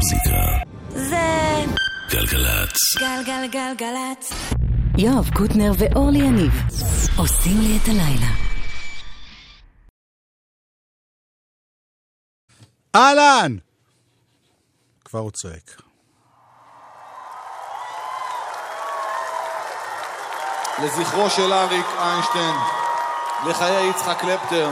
המוזיקה זה גלגלצ. גלגלגלגלצ. יואב קוטנר ואורלי יניב עושים לי את הלילה. אהלן! כבר הוא צועק. לזכרו של אריק איינשטיין, לחיי יצחק קלפטר.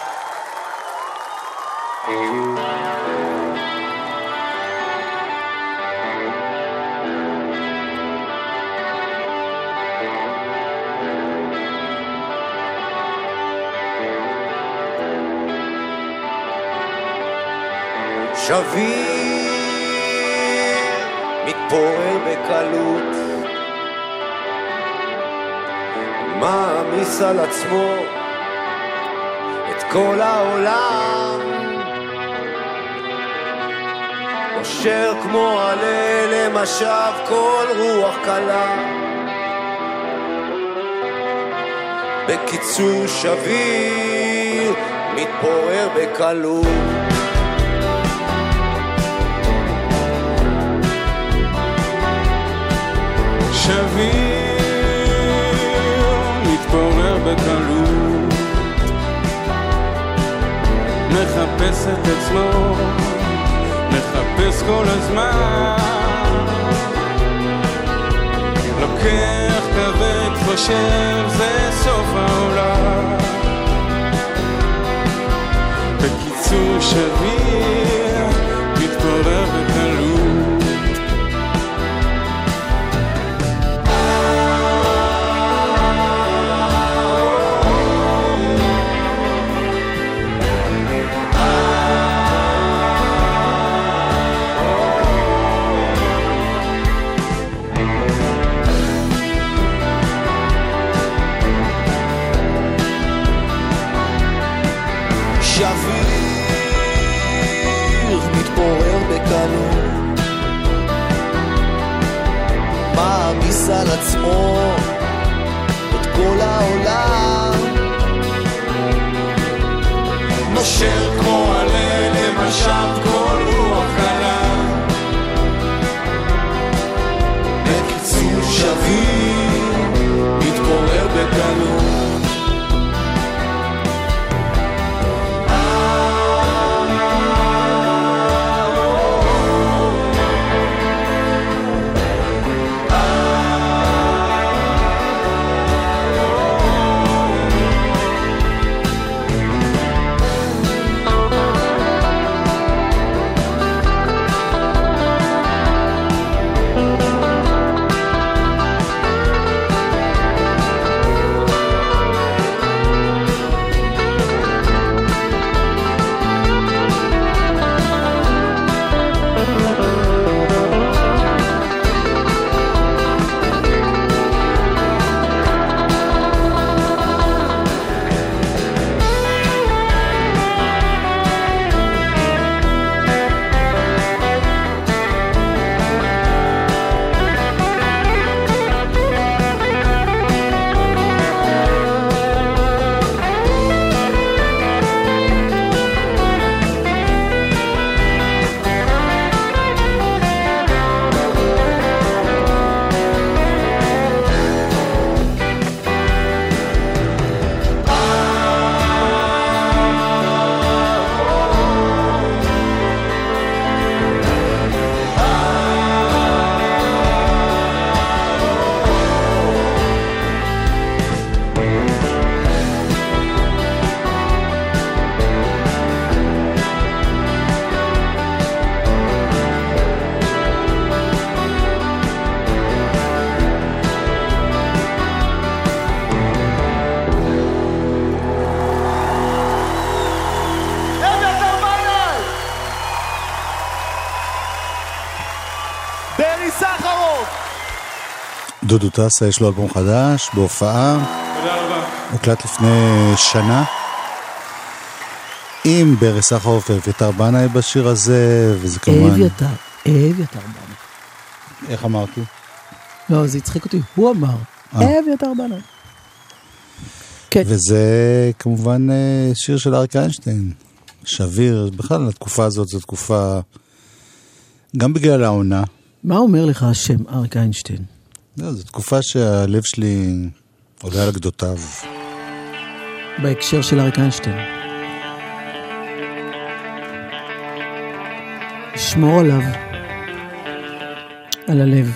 שביר מתפורר בקלות, מעמיס על עצמו את כל העולם, נושר כמו עלה למשב כל רוח קלה. בקיצור שביר מתפורר בקלות. שביר מתפורר בקלות, מחפש את עצמו, מחפש כל הזמן, לוקח כבד חושב זה סוף העולם. בקיצור שביר מתפורר בקלות. שביר מתפורר בקלות, מעמיס על עצמו את כל העולם, נושר כמו עלה למשב כל רוח קלה. בקיצור שביר מתפורר בקלות. דודו טסה יש לו אלבום חדש בהופעה. תודה רבה. הוקלט לפני שנה עם ברי סחרוף ואביתר בנאי בשיר הזה, וזה כמובן אביתר בנאי. איך אמרתי? לא, זה הצחיק אותי, הוא אמר אביתר בנאי. כן. וזה כמובן שיר של אריק איינשטיין, שביר. בכלל התקופה הזאת זו תקופה גם בגלל העונה. מה אומר לך השם אריק איינשטיין? זו תקופה שהלב שלי עולה על גדותיו. בהקשר של אריק איינשטיין. שמור עליו. על הלב.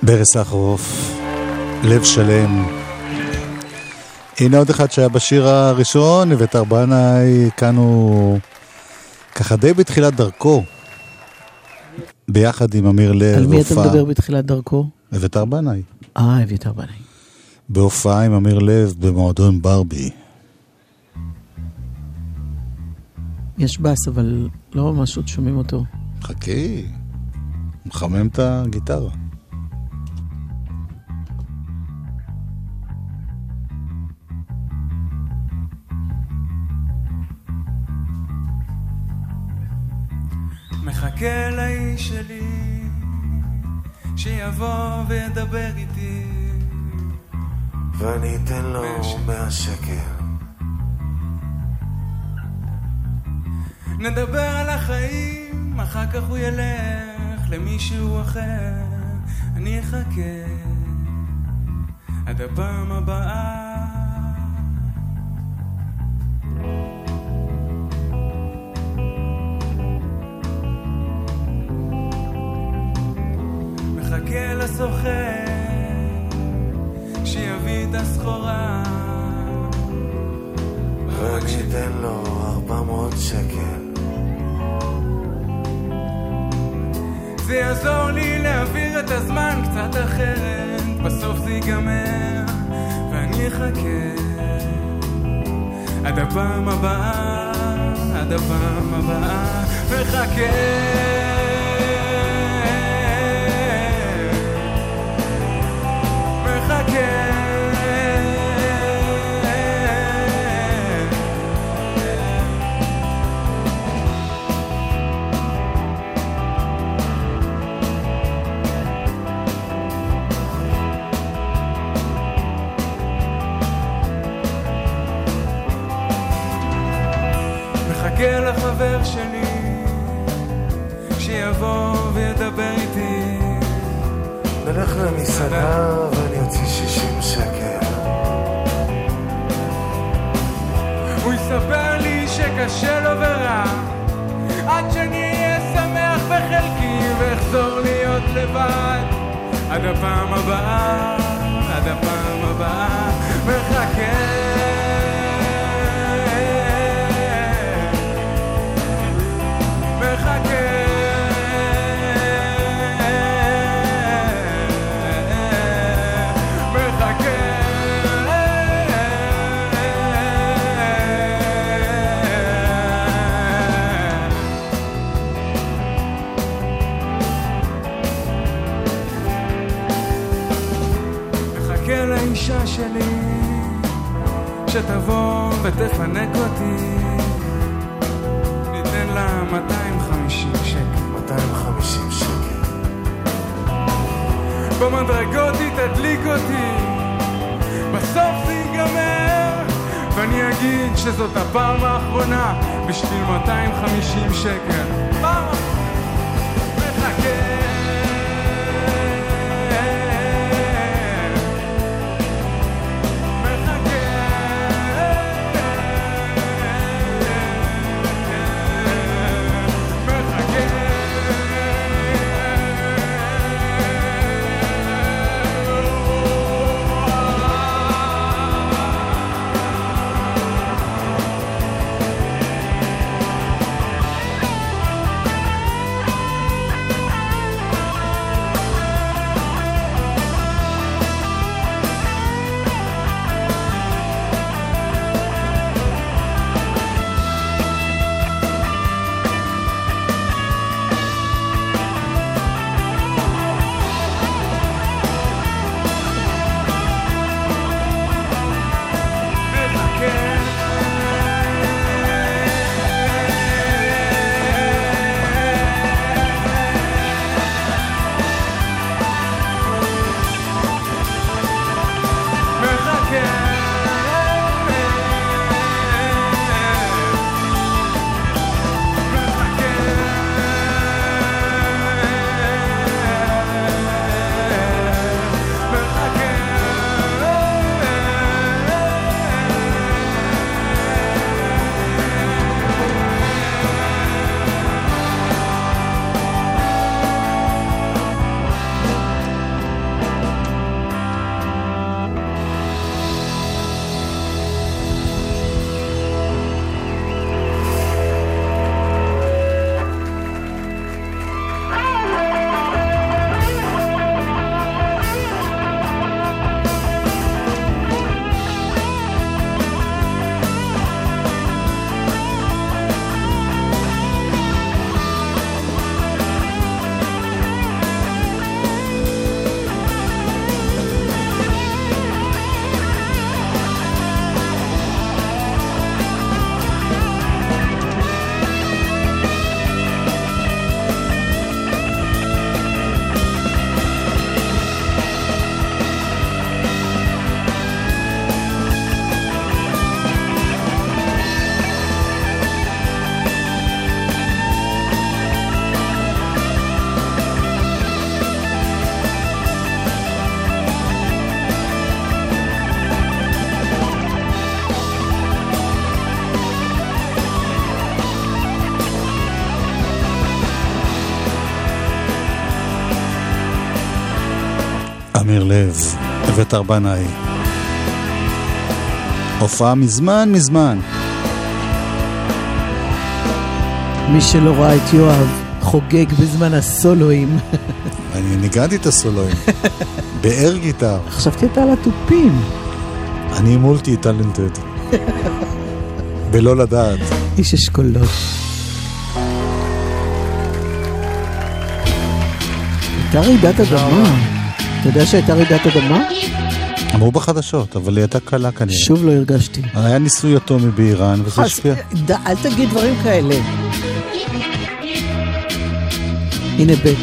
ברי סחרוף, לב שלם. הנה עוד אחד שהיה בשיר הראשון, אביתר בנאי, כאן הוא ככה די בתחילת דרכו, ביחד עם אמיר לב. על מי אתה מדבר בתחילת דרכו? אביתר בנאי. אביתר בנאי. בהופעה עם אמיר לב במועדון ברבי. יש בס, אבל לא ממש עוד שומעים אותו. חכי, מחמם את הגיטרה. מחכה לאיש שלי שיבוא וידבר איתי, ואני אתן לו 100 שקל. נדבר על החיים, אחר כך הוא ילך למישהו אחר. אני אחכה עד הפעם הבאה. מחכה לסוחר שיביא את הסחורה, ואני אתן לו 400 שקל. זה יעזור לי להעביר את הזמן קצת אחרת, בסוף זה ייגמר ואני אחכה עד הפעם הבאה, עד הפעם הבאה. מחכה מחכה לחבר שלי שיבוא וידבר איתי. נלך למסעדה ואני אוציא 60 שקל. הוא יספר לי שקשה לו ורע, עד שאני אהיה שמח בחלקי ואחזור להיות לבד. עד הפעם הבאה, עד הפעם הבאה. מחכה לאישה שלי שתבוא ותפנק אותי. ניתן לה 250 שקל. 250 שקל. במדרגות היא תדליק אותי, בסוף זה ייגמר ואני אגיד שזאת הפעם האחרונה בשביל 250 שקל. פעם מחכה אמיר לב, אביתר בנאי. הופעה מזמן. מי שלא ראה את יואב חוגג בזמן הסולואים. אני ניגעתי את הסולואים. באר גיטר. חשבתי אתה על הטופים. אני מולטי טלנטד. בלא לדעת. איש אשכולות. הייתה רעידת אדמה. אתה יודע שהייתה רעידת אדמה? אמרו בחדשות, אבל היא הייתה קלה כנראה. שוב לא הרגשתי. היה ניסוי אטומי באיראן, וזה השפיע. אל תגיד דברים כאלה. הנה בית.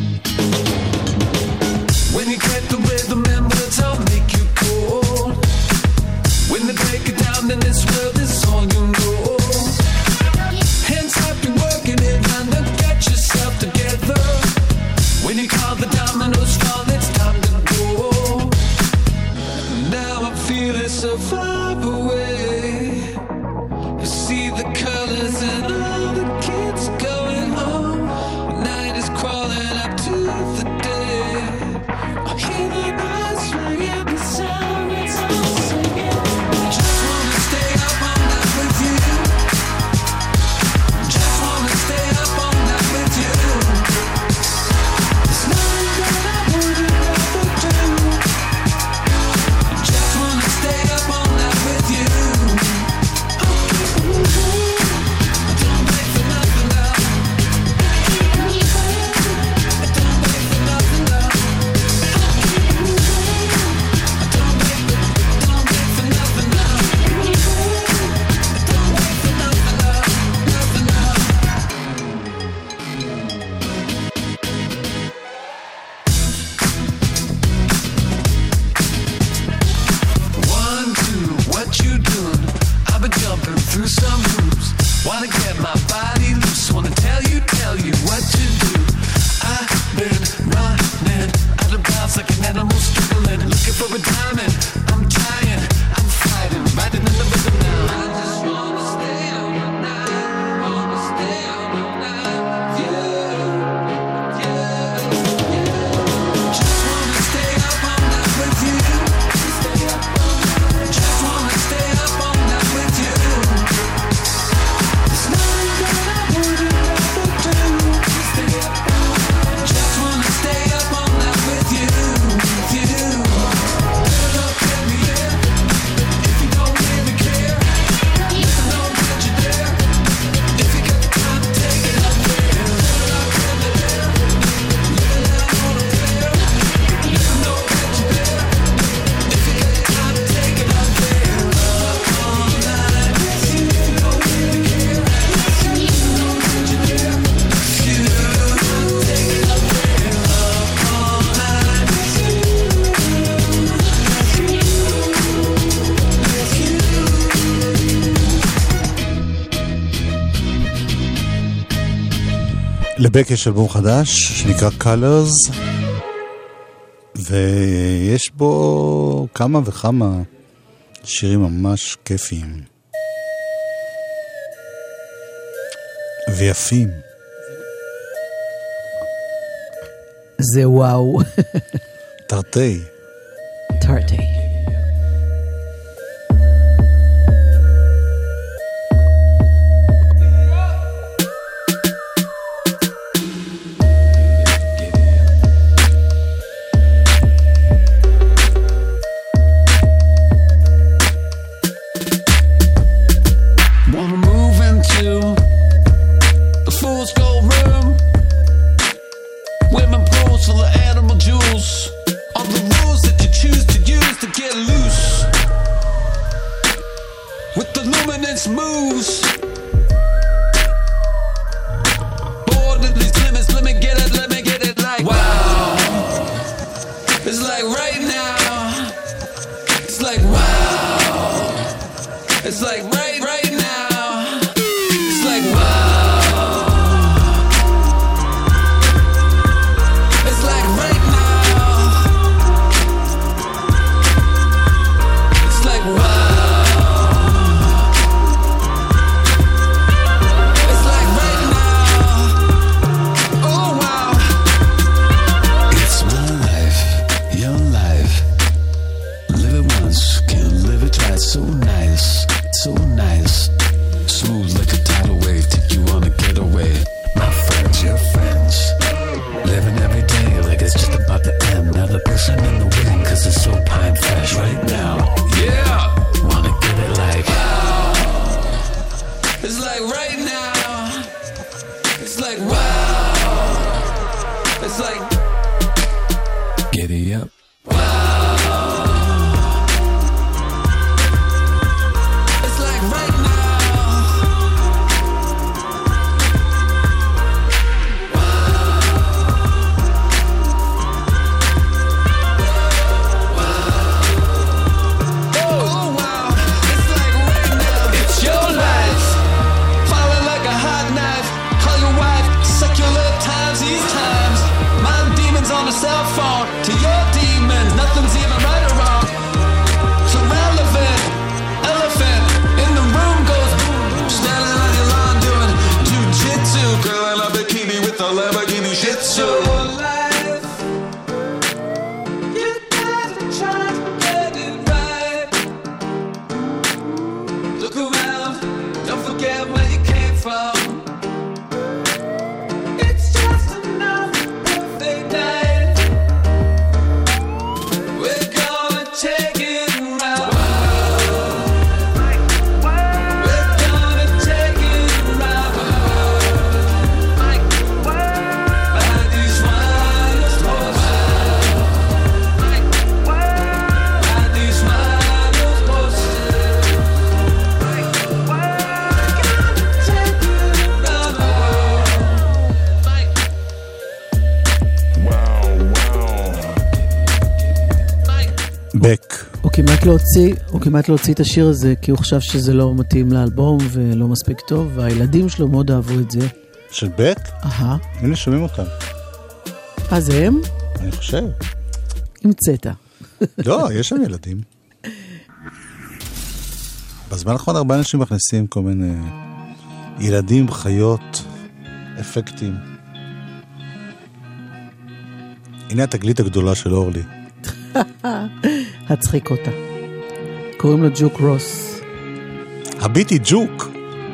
לבק יש אלבום חדש שנקרא Colors, ויש בו כמה וכמה שירים ממש כיפיים ויפים. זה וואו. תרתי. תרתי. Your life. בק. הוא כמעט להוציא את השיר הזה, כי הוא חשב שזה לא מתאים לאלבום ולא מספיק טוב, והילדים שלו מאוד אהבו את זה. של בק? הנה שומעים אותם. אז הם? אני חושב. המצאת. לא, יש שם ילדים. בזמן האחרון הרבה אנשים מכניסים כל מיני ילדים, חיות, אפקטים. הנה התגלית הגדולה של אורלי. הצחיק אותה. קוראים לו ג'וק רוס. הביטי ג'וק.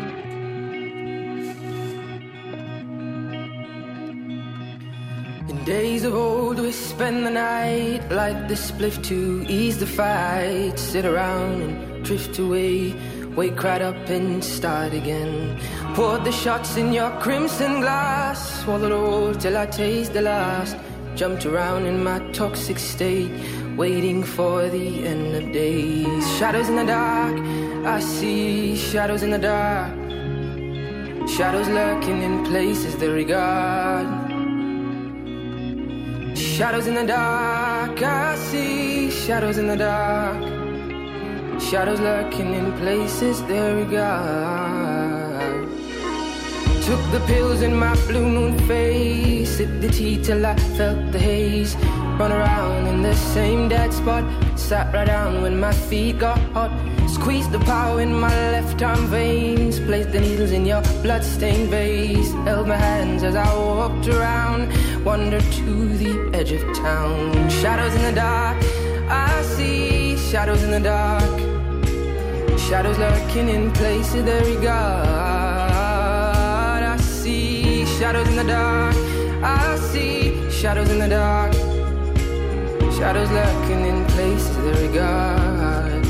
In days of old we spend the night, light the spliff to ease the fight, sit around and drift away, wake right up and start again. Poured the shots in your crimson glass, swallowed all till I taste the last. Jumped around in my toxic state, waiting for the end of days. Shadows in the dark, I see shadows in the dark. Shadows lurking in places they regard. Shadows in the dark, I see shadows in the dark. Shadows lurking in places they regard. Took the pills in my blue moon face, sipped the tea till I felt the haze. Run around in the same dead spot, sat right down when my feet got hot. Squeezed the power in my left arm veins, placed the needles in your blood-stained vase. Held my hands as I walked around, wandered to the edge of town. Shadows in the dark, I see shadows in the dark. Shadows lurking in places they regard. I see shadows in the dark, I see shadows in the dark. Shadows lurking in places they regard.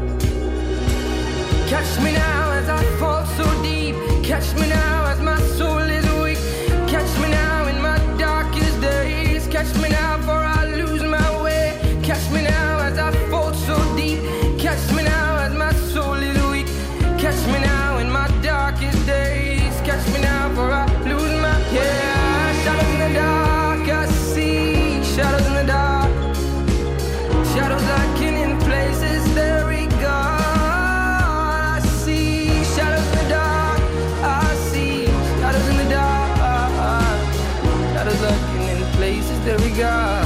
Catch me now as I fall so deep. Catch me now as my soul is weak. Catch me now in my darkest days. Catch me now for I lose my way. Catch me now as I fall so deep. Catch me now as my soul is weak. Catch me now in my darkest days. Catch me now for I lose my way. Shadows in the dark, I see shadows in the dark. Shadows lurking in places they regard. I see shadows in the dark. I see shadows in the dark. Shadows lurking in places they regard.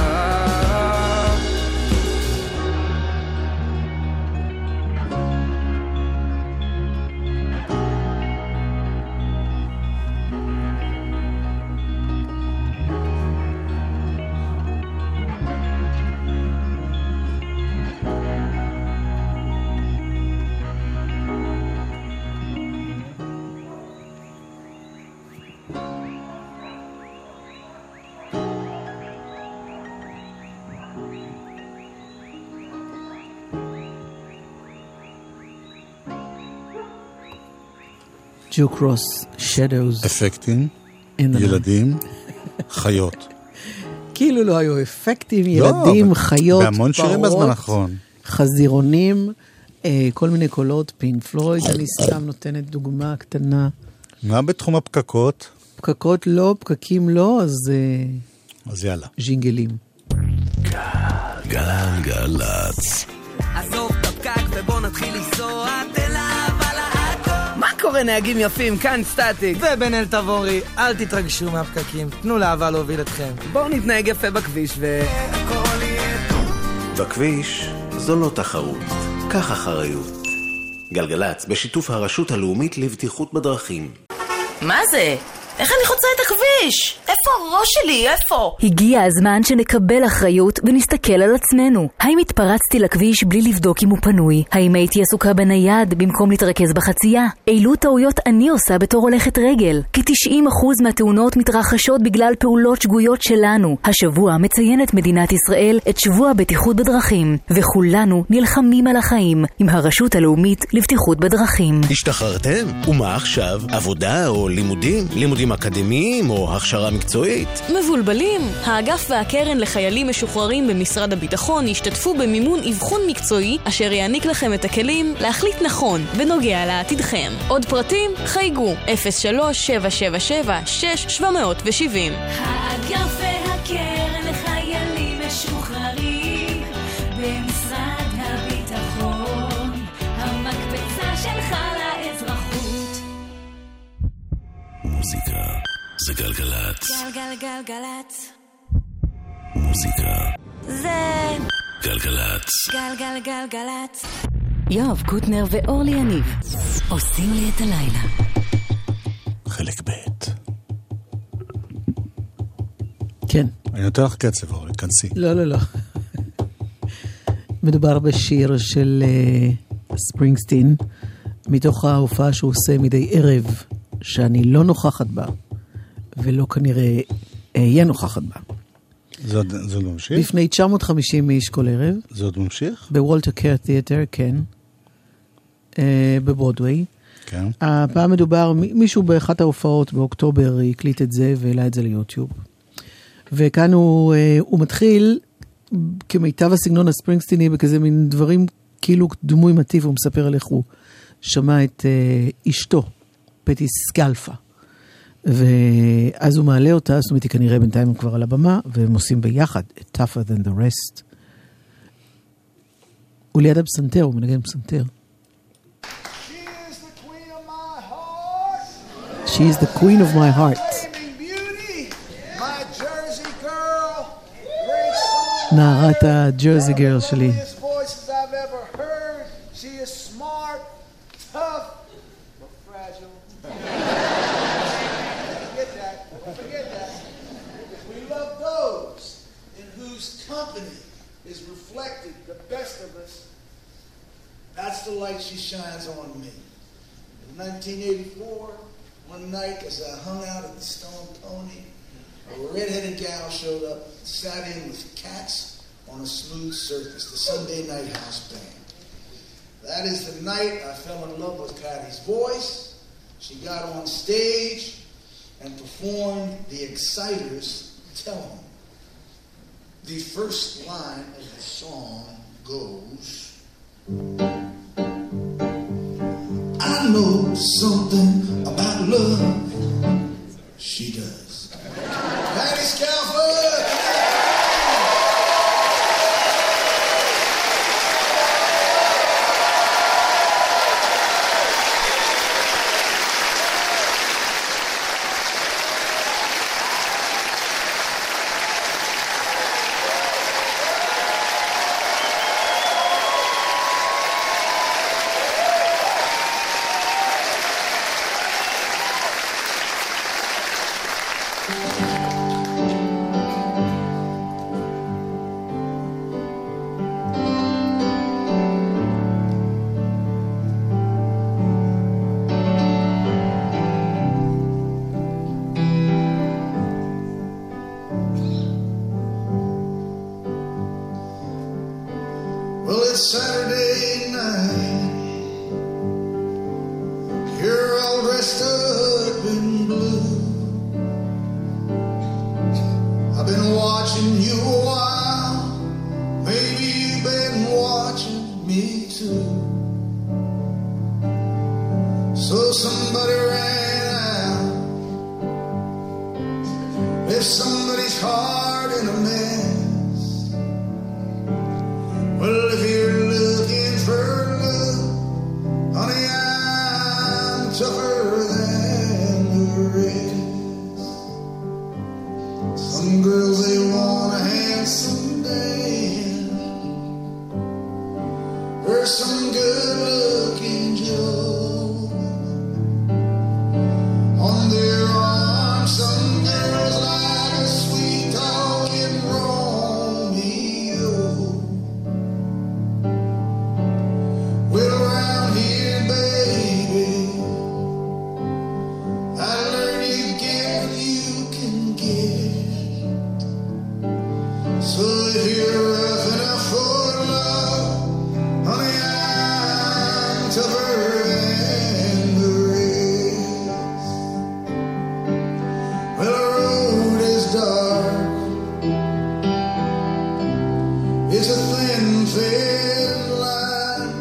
ג'וק רוס, Shadows. אפקטים, ילדים, חיות. כאילו לא היו אפקטים, ילדים, חיות, בהמון שירים בזמן האחרון. חזירונים, כל מיני קולות, פינק פלויד, אני סתם נותנת דוגמה קטנה. מה בתחום הפקקות? פקקות לא, פקקים לא, אז יאללה. ז'ינגלים. גלגלצ. עזוב את הפקק ובוא נתחיל לנסוע, תל אביב על העכו. מה קורה נהגים יפים? כאן סטטיק ובן אל תבורי, אל תתרגשו מהפקקים, תנו לאהבה להוביל אתכם. בואו נתנהג יפה בכביש בכביש זו לא תחרות, קח אחריות. גלגלצ בשיתוף הרשות הלאומית לבטיחות בדרכים. מה זה? איך אני חוצה את הכביש? איפה הראש שלי? איפה? הגיע הזמן שנקבל אחריות ונסתכל על עצמנו. האם התפרצתי לכביש בלי לבדוק אם הוא פנוי? האם הייתי עסוקה בנייד במקום להתרכז בחצייה? אילו טעויות אני עושה בתור הולכת רגל? כ-90% מהתאונות מתרחשות בגלל פעולות שגויות שלנו. השבוע מציינת מדינת ישראל את שבוע הבטיחות בדרכים, וכולנו נלחמים על החיים עם הרשות הלאומית לבטיחות בדרכים. השתחררתם? ומה עכשיו? עבודה או לימודים? לימודים אקדמיים או הכשרה מקצועית? מבולבלים? האגף והקרן לחיילים משוחררים במשרד הביטחון ישתתפו במימון אבחון מקצועי אשר יעניק לכם את הכלים להחליט נכון בנוגע לעתידכם. עוד פרטים? חייגו 03-777-6770. האגף והקרן לחיילים משוחררים במשרד גלגלצ. גלגלגלגלצ. מוזיקה. זה גלגלצ. גלגלגלגלצ. יואב קוטנר ואורלי יניב עושים לי את הלילה. חלק ב'. כן. אני נותן לך קצב, אורלי, כנסי. לא. מדובר בשיר של ספרינגסטין, מתוך ההופעה שהוא עושה מדי ערב, שאני לא נוכחת בה, ולא כנראה אהיה נוכחת בה. זה עוד ממשיך? לפני 950 איש כל ערב. זה עוד ממשיך? בוולטר קר תיאטר, כן. בברודווי. כן. הפעם מדובר, מישהו באחת ההופעות באוקטובר הקליט את זה והעלה את זה ליוטיוב. וכאן הוא מתחיל כמיטב הסגנון הספרינגסטיני בכזה מין דברים כאילו דמוי מטיב, הוא מספר על איך הוא שמע את אשתו, פטי סקלפה. ואז הוא מעלה אותה, זאת אומרת, היא כנראה בינתיים הוא כבר על הבמה, והם עושים ביחד, tougher than the rest. הוא ליד הפסנתר, הוא מנגן פסנתר. She is the queen of my heart. נערת הג'רזי גרל שלי. That's the light she shines on me. In 1984, one night as I hung out at the Stone Pony, a red-headed gal showed up, sat in with cats on a smooth surface, the Sunday Night House Band. That is the night I fell in love with Patty's voice. She got on stage and performed The Exciters' Tell 'Em. The first line of the song goes, I know something about love. She does. Patty Scalfa! Well, it's Saturday night. You're all dressed up in blue. I've been watching you a while. Maybe you've been watching me too. So somebody ran out. If somebody's heart in a mess, well, if you're looking for love, honey, I'm tougher than the rest. Some girls, they want a handsome man, or some good-looking Joe. On their arms, some girls like a sweet-talking Romeo. Well, around here, baby, I learned you give what you can get. So if you're rough enough for love, honey, I'm tougher than the rest. Well, the road is dark. It's a thin, thin line.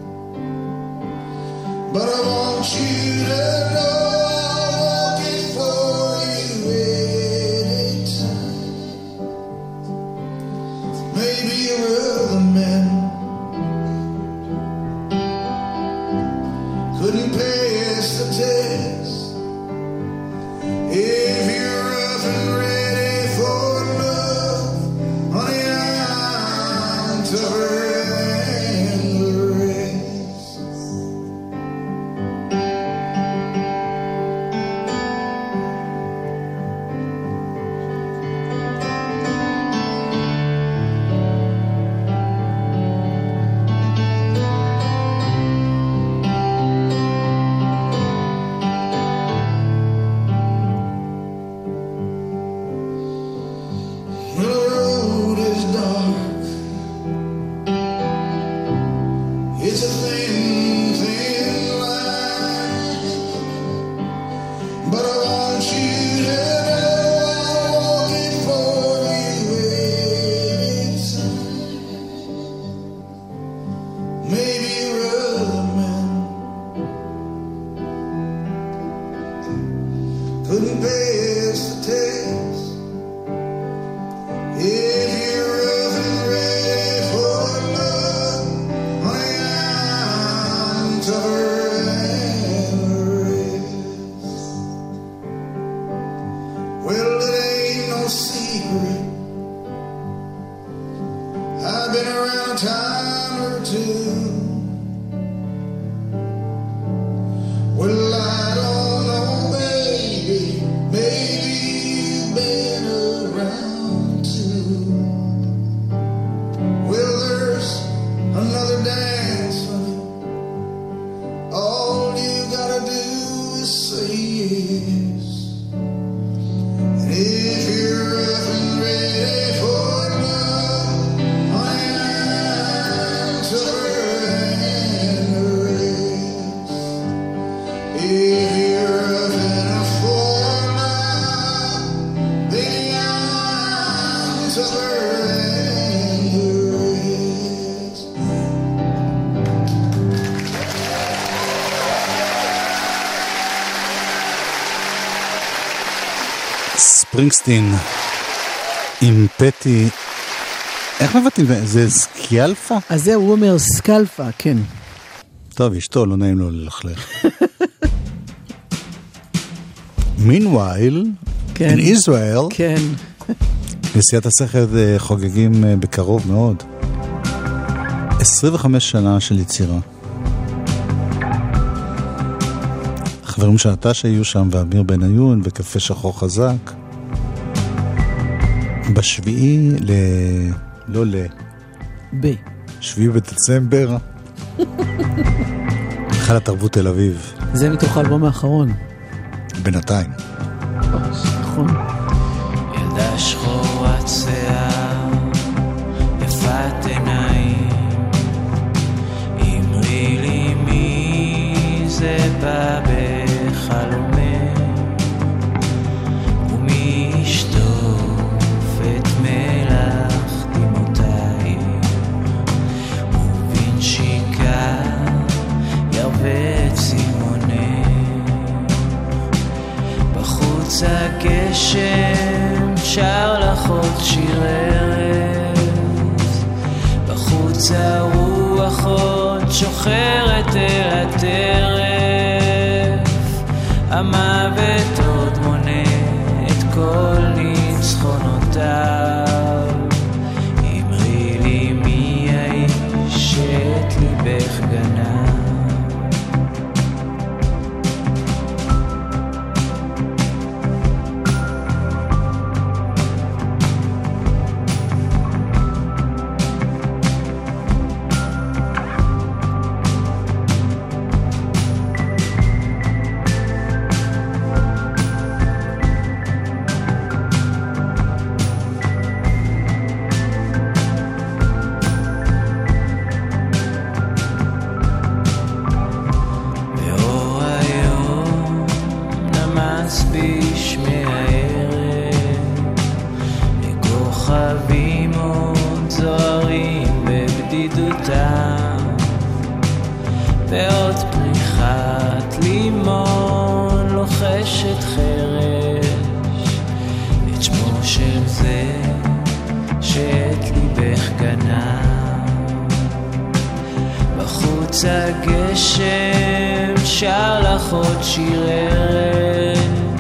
But I want you to know I'll walk it for you anytime. Maybe you're other men couldn't pass the test. If you're pass the test. If you're rough and ready for love, honey, I'm tougher than the rest. Well, it ain't no secret, I've been around a time or two. Well, I don't know, baby, maybe you've been around too. Well, there's another dance for you. All you gotta do is say yes. And if you're rough and ready for love, I'm tougher than the rest. If you're rough enough for love, then I'm tougher than the rest. ספרינגסטין עם פטי, איך מבטאים? זה סקיאלפה? אז זה הוא אומר סקלפה, כן. טוב, אשתו, לא נעים לו ללכלך. Meanwhile, כן. in Israel, כן. נשיאת השכל חוגגים בקרוב מאוד. 25 שנה של יצירה. החברים של נטשה יהיו שם, ואמיר בניון, וקפה שחור חזק. בשביעי שביעי בדצמבר, חל התרבות תל אביב. זה מתוך האלבום האחרון. בינתיים. נכון. ילדה שחורת שיער, יפת עיניים, אמרי לי מי זה בא בחלומך, ומי ישטוף את מלח דמעותיי, ובנשיקה ירווה צימוני, בחוץ הגשם שר לך עוד שיר ארז, בחוץ הרוח עוד שוחרת אל הטרף, המוות עוד מונה את כל ניצחונותיו, אמרי לי מי האיש שאת ליבך גנב. ועוד פריחת לימון לוחשת חרש את שמו של זה שאת ליבך גנב, בחוץ הגשם שר לך עוד שיר ארז,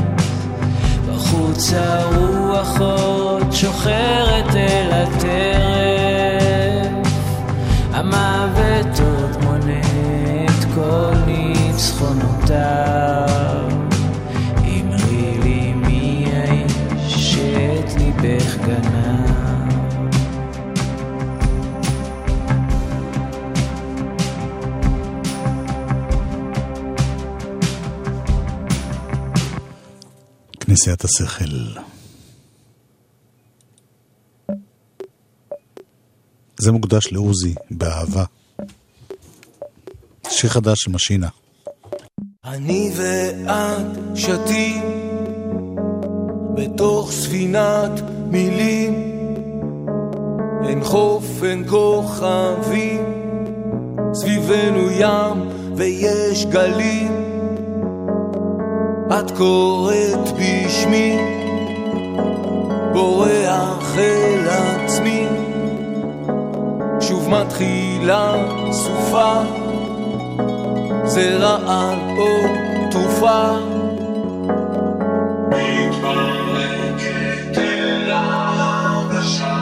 בחוץ הרוח עוד שוחרת אל הטרף, המוות עוד מונה את כל ניצחונותיו, אמרי לי מי האיש שאת ליבך גנב. כנסיית השכל. זה מוקדש לעוזי באהבה. שיר חדש של משינה. אני ואת שתים בתוך ספינת מילים, אין חוף אין כוכבים, סביבנו ים ויש גלים, את קוראת בשמי, בורח אל עצמי, שוב מתחילה סופה, זה רעל או תרופה, מתפרקת אל ההרגשה,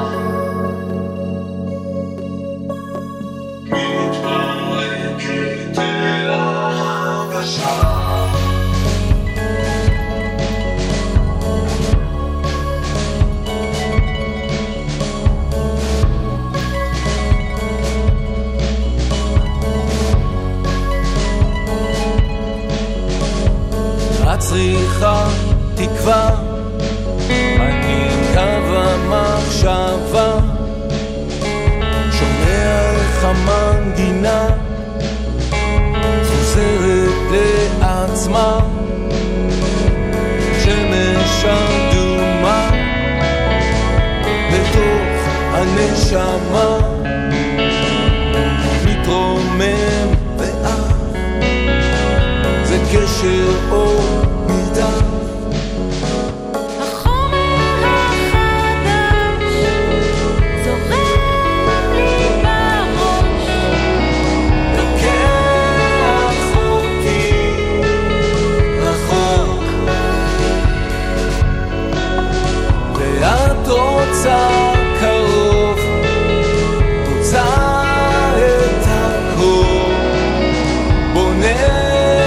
מתפרקת אל ההרגשה. צריכה תקווה, אני קו המחשבה, שומע איך המנגינה חוזרת לעצמה, שמש אדומה בתוך הנשמה, מתרומם ואף זה קשר אור מרדף, החומר החדש זורם לי בראש, לוקח אותי רחוק, ואת רוצה קרוב, רוצה את הכל, בונה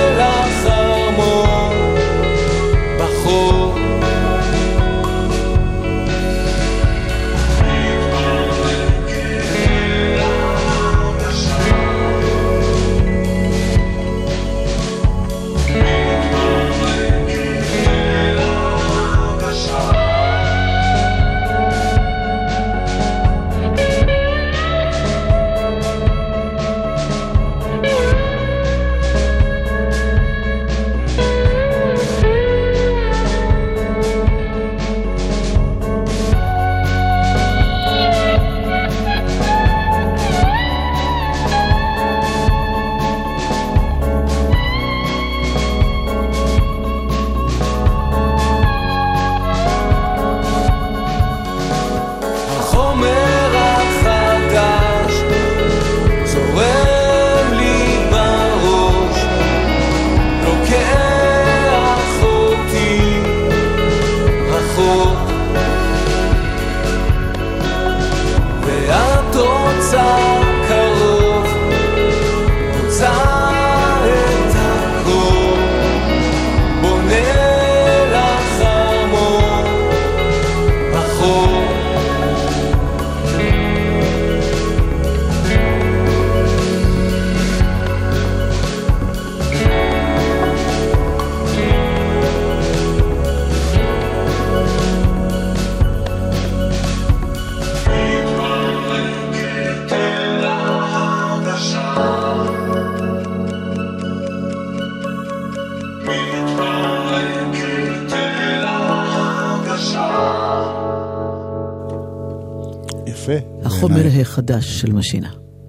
החומר החדש של משינה.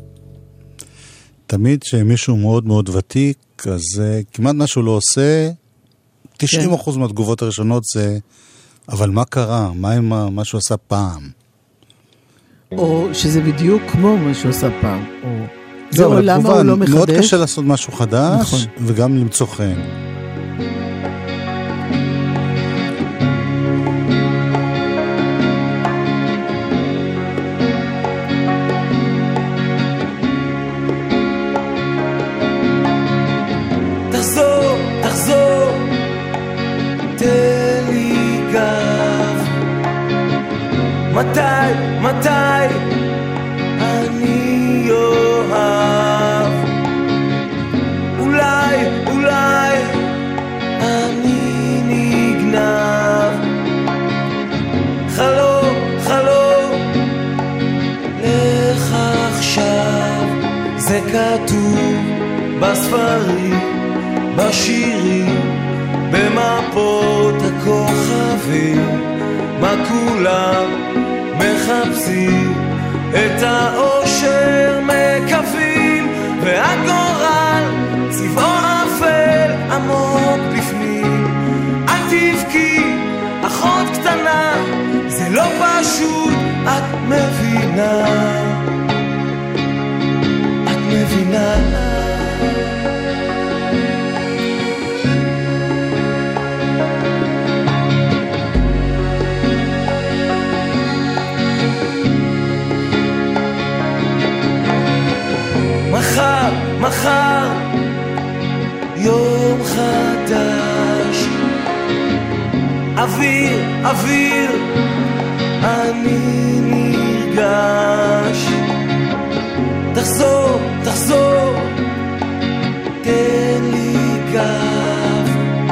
תמיד שמישהו מאוד מאוד ותיק, אז כמעט משהו לא עושה, 90% מהתגובות הראשונות זה, אבל מה קרה? מה עם מה שהוא עשה פעם? או שזה בדיוק כמו מה שהוא עשה פעם, או זה עולם הוא לא מחדש. מאוד קשה לעשות משהו חדש, וגם למצוא חן. מתי אני אוהב, אולי אני נגנב, חלום לך עכשיו, זה כתוב בספרים, בשירים, במפות הכוכבים, מה כולם מחפשים, את האושר מקווים, והגורל צבעו אפל עמוק בפנים, מחר יום חדש. אוויר, אוויר, אני נרגש. תחזור, תחזור, תן לי גב.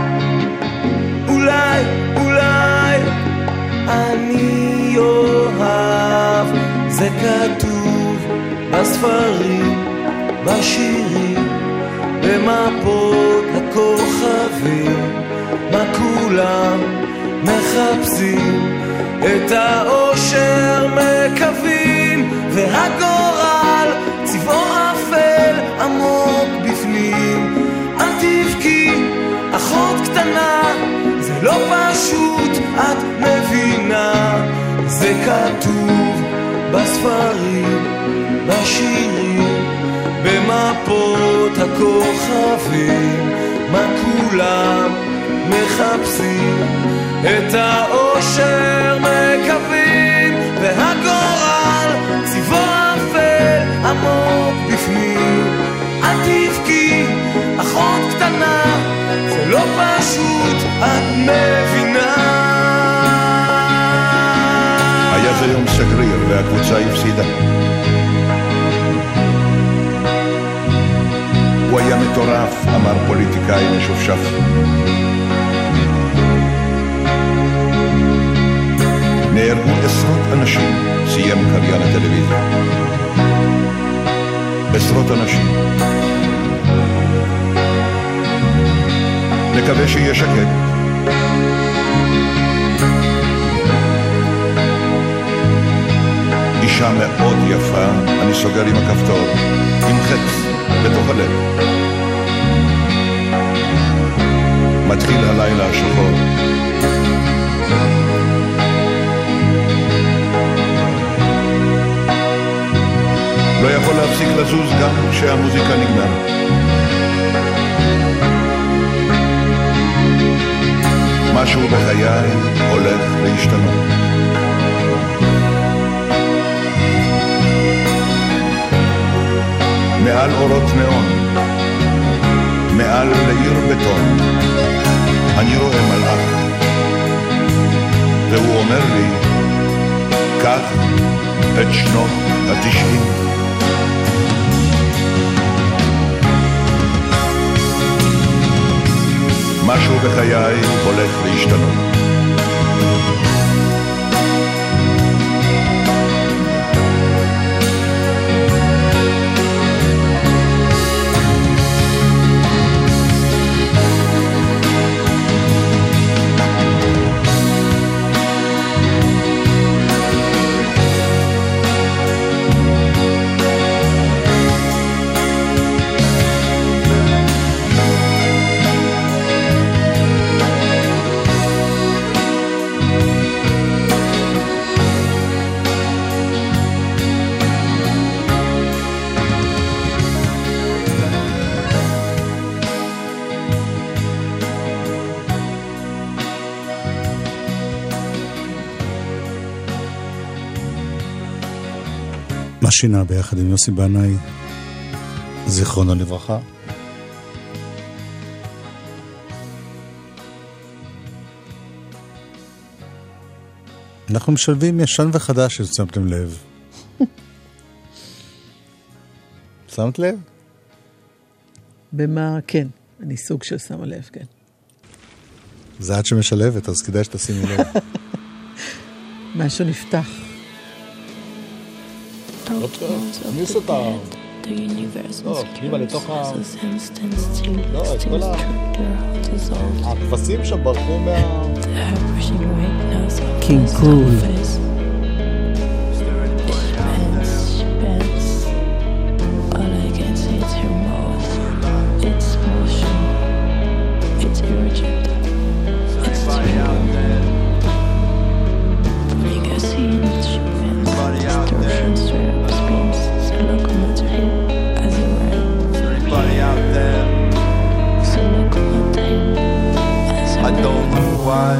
אולי, אולי אני אוהב. זה כתוב בספרים, בשירים, במפות הכוכבים. מה כולם מחפשים? את האושר מקווים, והגורל צבעו אפל עמוק בפנים. אל תבכי אחות קטנה, זה לא פשוט, את מבינה. זה כתוב בספרים, בשירים, במפות הכוכבים. מה כולם מחפשים? את האושר מקווים, והגורל צבעו אפל עמוק בפנים. אל תבכי אחות קטנה, זה לא פשוט, את מבינה. היה זה יום סגריר והקבוצה הפסידה. הוא היה מטורף, אמר פוליטיקאי משופשף. נהרגו עשרות אנשים, סיים קריין הטלוויזיה. עשרות אנשים. נקווה שיהיה שקט. אישה מאוד יפה, אני סוגר עם הכפתור, עם חץ בתוך הלב. מתחיל הלילה השחור. לא יכול להפסיק לזוז גם כשהמוזיקה נגמרת. משהו בחיי הולך להשתנות. מעל אורות נאון, מעל לעיר בטון, אני רואה מלאך, והוא אומר לי, קח את שנות ה-90. משהו בחיי הולך להשתנות. מה שינה ביחד עם יוסי בנאי, זיכרונו לברכה. אנחנו משלבים ישן וחדש, ששמתם לב. שמת לב? במה? כן, אני סוג של שמה לב, כן. זה עד שמשלבת, אז כדאי שתשימי לב. משהו נפתח. תכניס אותה. לא, פנימה לתוך ה... לא, את כל הכבשים שם ברחו מה... קינג קול. I don't know why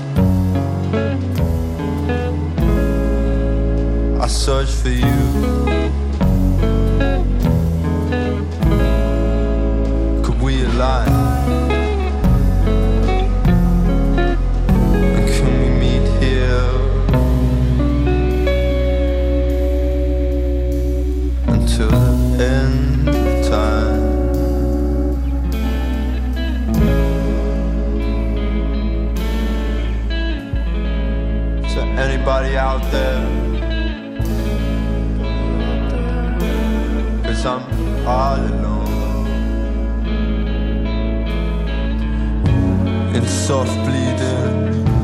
I search for you align? And can we meet here until the end of time? Is there anybody out there? 'Cause I'm all alone in soft bleeding.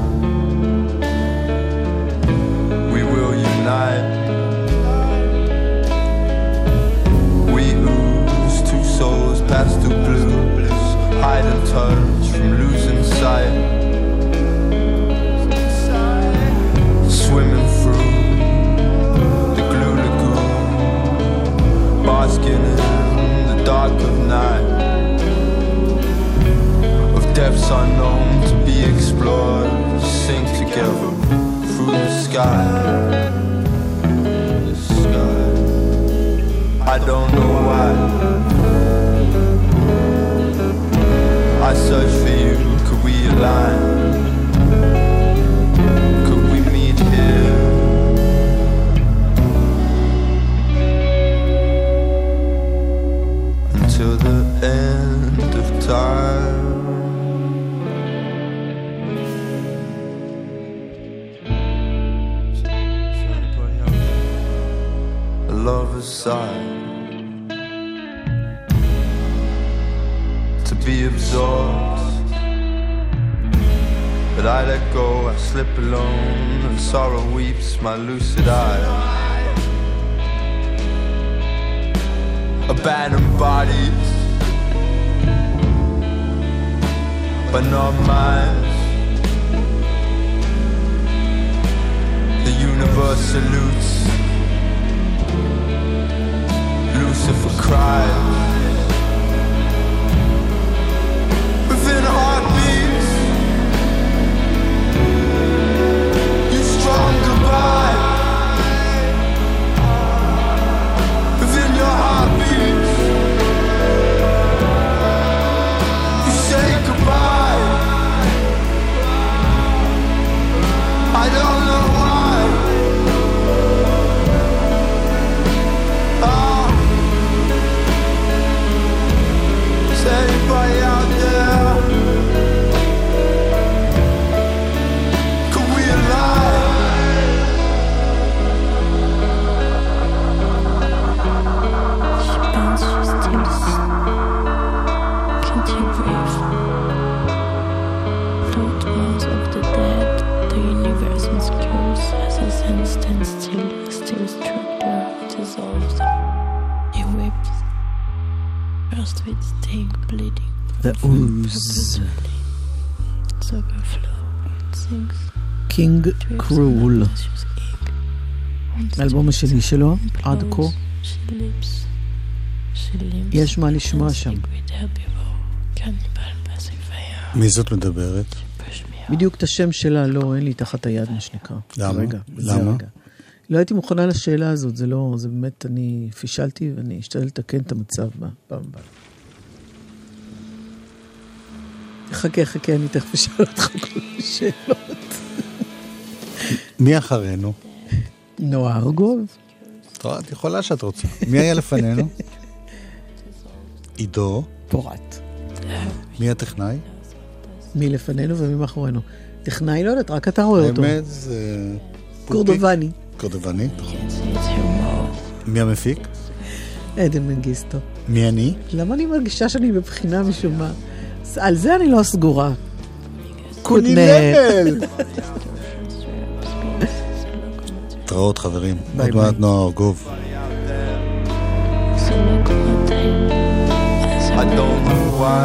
We will unite. We ooze two souls, pastel blues, hide and touch from losing sight. Swimming through the glue lagoon, basking in the dark of night, of depths unknown to be explored, sink together through the sky. The sky. I don't know why I search for you. Could we align? Could we meet here? Till the end of time. A lover's sigh, to be absorbed, but I let go, I slip alone, and sorrow weeps my lucid eye. Abandoned bodies, but not mine. The universe salutes. Lucifer cries. Within heartbeats, you strong goodbye. Within your heartbeats, you say goodbye. I don't know why. Oh, is anybody out there? Could we align? Can't you breathe? Float walls of the dead, the universe obscures as the sun stands still, still structure dissolves. He weeps, first with sting, bleeding. The ooze. Its overflow, it sinks. קינג קרול. האלבום השני שלו, עד כה. יש מה לשמוע שם. מי זאת מדברת? בדיוק את השם שלה, לא, אין לי תחת היד מה שנקרא. למה? למה? לא הייתי מוכנה לשאלה הזאת, זה לא, זה באמת, אני פישלתי ואני אשתדל לתקן את המצב בפעם הבאה. חכה, אני תכף אשאל אותך כל השאלות. מי אחרינו? נועה ארגוב. טוב, את יכולה שאת רוצה. מי היה לפנינו? עידו. פורט. מי הטכנאי? מי לפנינו ומי מאחורינו. טכנאי לא יודעת, רק אתה רואה אותו. האמת זה... קורדובני. קורדובני, נכון. מי המפיק? עדן מנגיסטו. מי אני? למה אני מרגישה שאני בבחינה משום מה? על זה אני לא סגורה. קוני לבל! תראות חברים, עוד מעט נועה ארגוב. I don't know why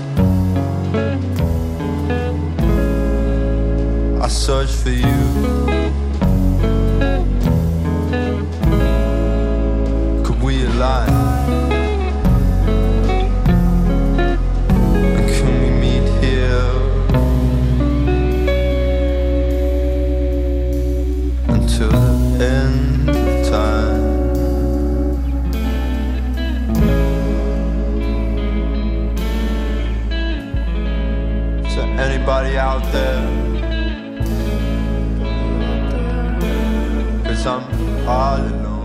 I search for you. Could we align? And can we meet here until the end of time? anybody out there? 'Cause I'm all alone.